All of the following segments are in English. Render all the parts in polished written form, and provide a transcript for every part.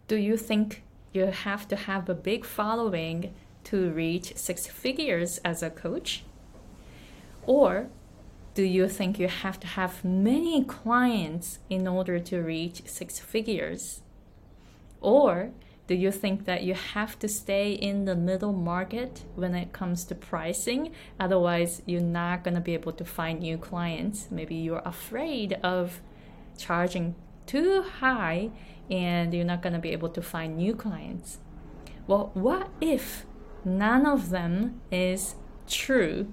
Do you think you have to have a big following to reach six figures as a coach? Or do you think you have to have many clients in order to reach six figures? Or do you think that you have to stay in the middle market when it comes to pricing? Otherwise, you're not going to be able to find new clients. Maybe you're afraid of charging too high and you're not going to be able to find new clients. Well, what if none of them is true?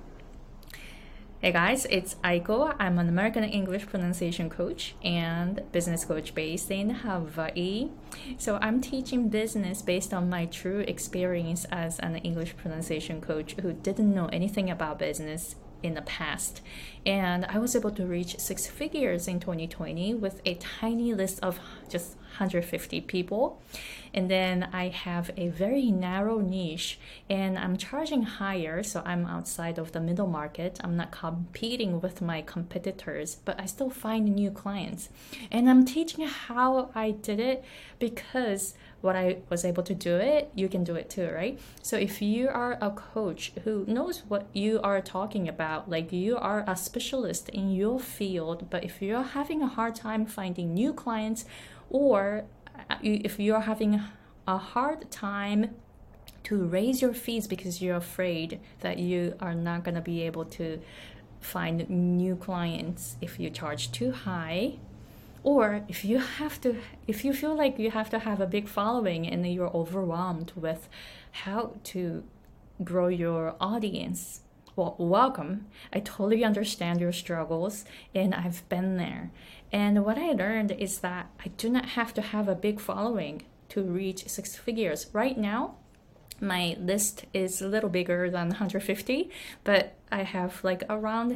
Hey guys, it's Aiko. I'm an American English pronunciation coach and business coach based in Hawaii. So I'm teaching business based on my true experience as an English pronunciation coach who didn't know anything about business in the past. And I was able to reach six figures in 2020 with a tiny list of just 150 people. And then I have a very narrow niche and I'm charging higher, so I'm outside of the middle market. I'm not competing with my competitors, but I still find new clients. And I'm teaching how I did it because what I was able to do it, you can do it too, right? So if you are a coach who knows what you are talking about, like you are a specialist in your field, but if you're having a hard time finding new clients, or if you're having a hard time to raise your fees because you're afraid that you are not going to be able to find new clients if you charge too high, or if you feel like you have to have a big following and you're overwhelmed with how to grow your audience, well, welcome. I totally understand your struggles and I've been there. And what I learned is that I do not have to have a big following to reach six figures. Right now, my list is a little bigger than 150, but I have like around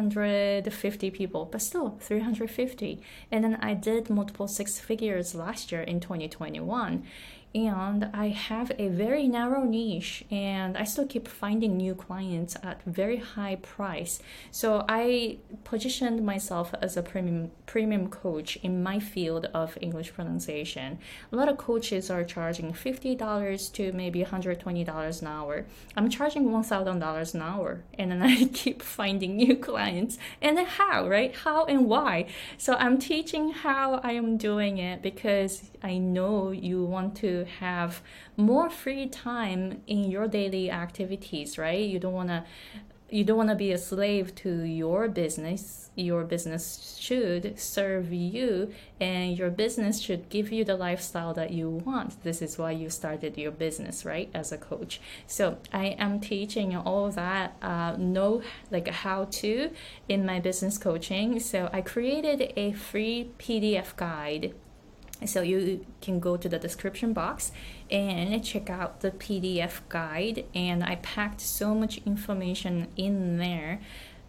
350 people, but still 350. And then I did multiple six figures last year in 2021. And I have a very narrow niche and I still keep finding new clients at very high price. So I positioned myself as a premium coach in my field of English pronunciation. A lot of coaches are charging $50 to maybe $120 an hour. I'm charging $1,000 an hour and then I keep finding new clients. And then how, right? How and why? So I'm teaching how I am doing it because I know you want to have more free time in your daily activities, right? You don't want to be a slave to your business. Your business should serve you and your business should give you the lifestyle that you want. This is why you started your business, right? As a coach. So I am teaching all that like how to in my business coaching. So I created a free PDF guide. So you can go to the description box and check out the PDF guide. And I packed so much information in there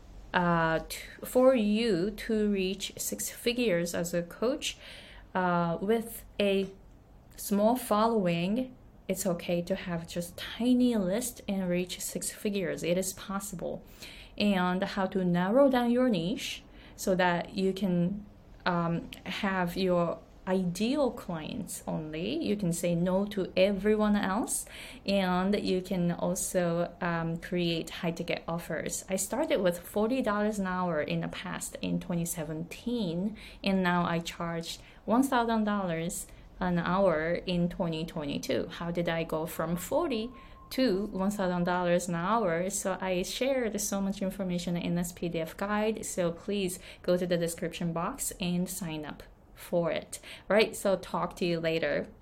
for you to reach six figures as a coach with a small following. It's okay to have just tiny list and reach six figures. It is possible. And how to narrow down your niche so that you can have your ideal clients only. You can say no to everyone else, and you can also create high ticket offers. I started with $40 an hour in the past in 2017, and now I charge $1,000 an hour in 2022. How did I go from 40 to $1,000 an hour? So I shared so much information in this PDF guide. So please go to the description box and sign up for it. All right, so talk to you later.